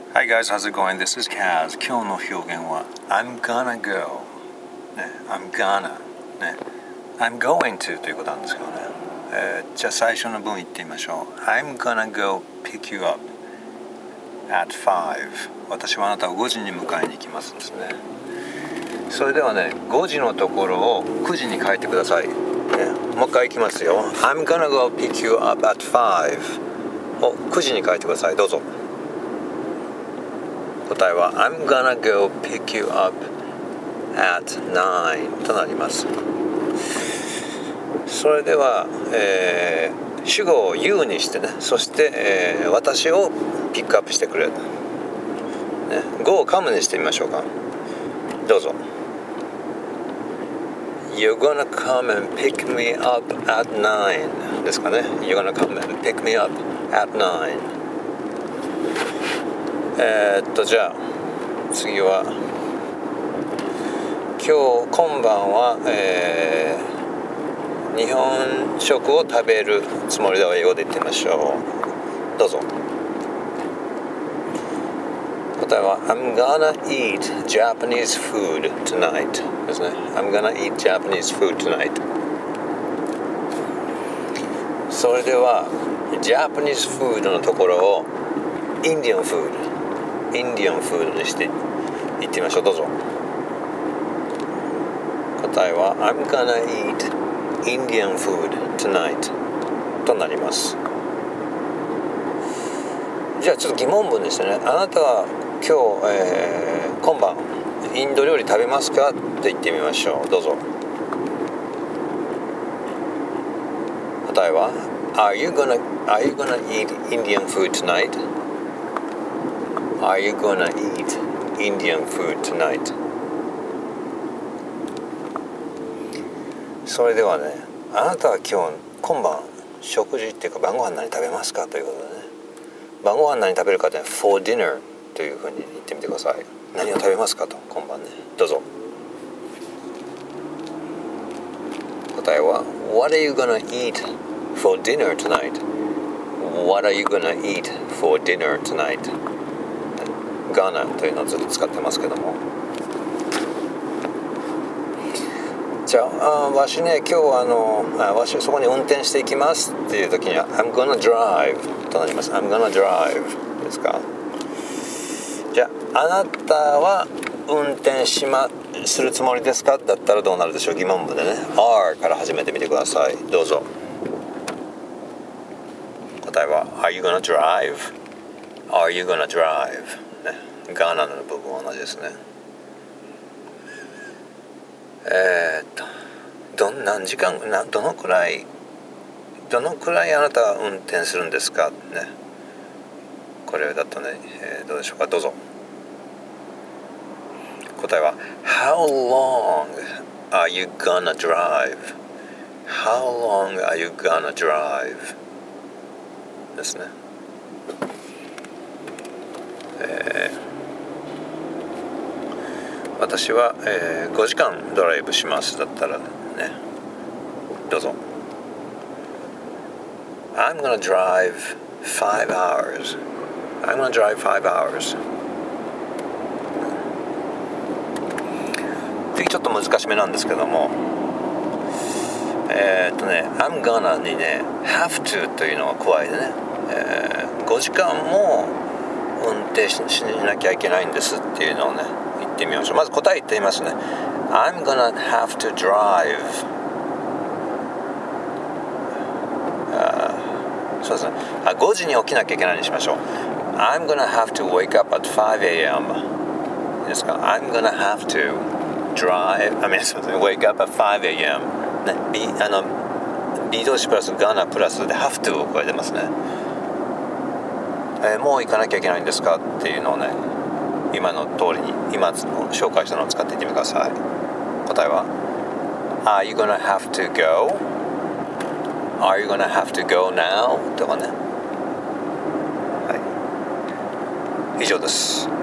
Hi guys, how's it going? This is Kaz. 今日の表現は I'm gonna go、ね、I'm gonna、ね、I'm going to ということなんですけどね、じゃあ最初の文言ってみましょう。 I'm gonna go pick you up at 5. 私はあなたを5時に迎えに行きますですね。それではね、5時のところを9時に変えてください、ね、もう一回いきますよ。 I'm gonna go pick you up at 5を9時に変えてください。どうぞ。答えは I'm gonna go pick you up at 9となります。それでは、主語を You にしてね、そして、私をピックアップしてくれる、ね、Go を Come にしてみましょうか。どうぞ。 You're gonna come and pick me up at 9ですかね。 You're gonna come and pick me up at 9。じゃあ次は今晩は、日本食を食べるつもりで英語で言ってみましょう。どうぞ。答えは I'm gonna eat Japanese food tonight ですね。 I'm gonna eat Japanese food tonight。 それでは Japanese food のところを Indian food にして言ってみましょう。どうぞ。答えは I'm gonna eat Indian food tonight となります。じゃあちょっと疑問文ですね。あなたは今日、今晩インド料理食べますかって言ってみましょう。どうぞ。答えは Are you gonna eat Indian food tonight?Are you gonna eat Indian food tonight? それではね、あなたは今晩食事っていうか晩ご飯何食べますかということでね、晩ご飯何食べるかって for dinner というふうに言ってみてください。何を食べますかと、今晩ね。どうぞ。答えは What are you gonna eat for dinner tonight? What are you gonna eat for dinner tonight?ガーナというのをずっと使ってますけども、じゃあわしね、今日はわしそこに運転していきますっていう時には I'm gonna drive となります。 I'm gonna drive ですか。じゃああなたは運転するつもりですかだったらどうなるでしょう。疑問文でね are から始めてみてください。どうぞ。答えは Are you gonna drive? Are you gonna drive?ガーナの部分は同じですね。何時間どのくらいあなたは運転するんですかね。これだとね、どうでしょうか。どうぞ。答えは How long are you gonna drive? How long are you gonna drive? ですね。私は、5時間ドライブしますだったらね、どうぞ。 I'm gonna drive 5 hours I'm gonna drive 5 hours 次ちょっと難しめなんですけども、I'm gonna にね have to というのを加えてね、5時間も運転しなきゃいけないんですっていうのをね言ってみましょう。まず答え言ってみますね。 I'm gonna have to drive そうですね。5時に起きなきゃいけないにしましょう。 I'm gonna have to wake up at 5 a.m. ですか。 I'm gonna have to wake up at 5 a.m. ね、B 動詞プラス gonna プラスで have to を加えてますね。もう行かなきゃいけないんですかっていうのをね、今の通りに今紹介したのを使っていってみてください。答えは Are you gonna have to go? Are you gonna have to go now? とかね。はい、以上です。